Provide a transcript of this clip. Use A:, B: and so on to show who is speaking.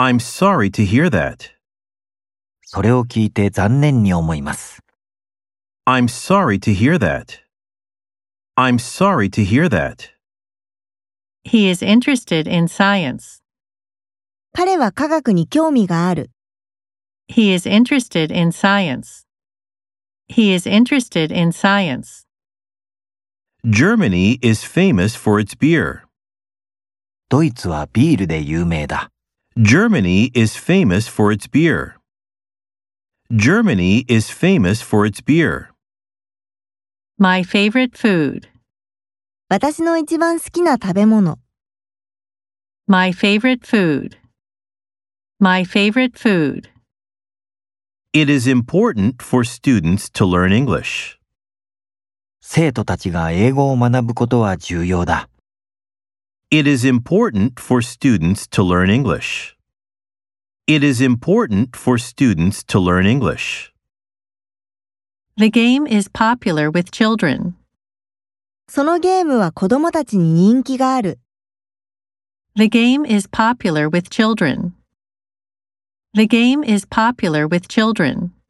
A: I'm sorry to hear that.
B: それを聞いて残念に思います。
A: I'm sorry to hear that. I'm sorry to hear that.
C: He is interested in science.
D: 彼は科学に興味がある。
C: He is interested in science. He is interested in science.
A: Germany is famous for its beer.
B: ドイツはビールで有名だ。
A: Germany is famous for its beer. Germany is famous for its beer.
C: My favorite food.
D: 私の一番好きな食べ物。
C: My favorite food. My favorite food.
A: It is important for students to learn English.
B: 生徒たちが英語を学ぶことは重要だ。
A: It is important for students to learn English. It is important for students to learn English.
C: The game is popular with children.
D: そのゲームは子供たちに人気がある。
C: The game is popular with children. The game is popular with children.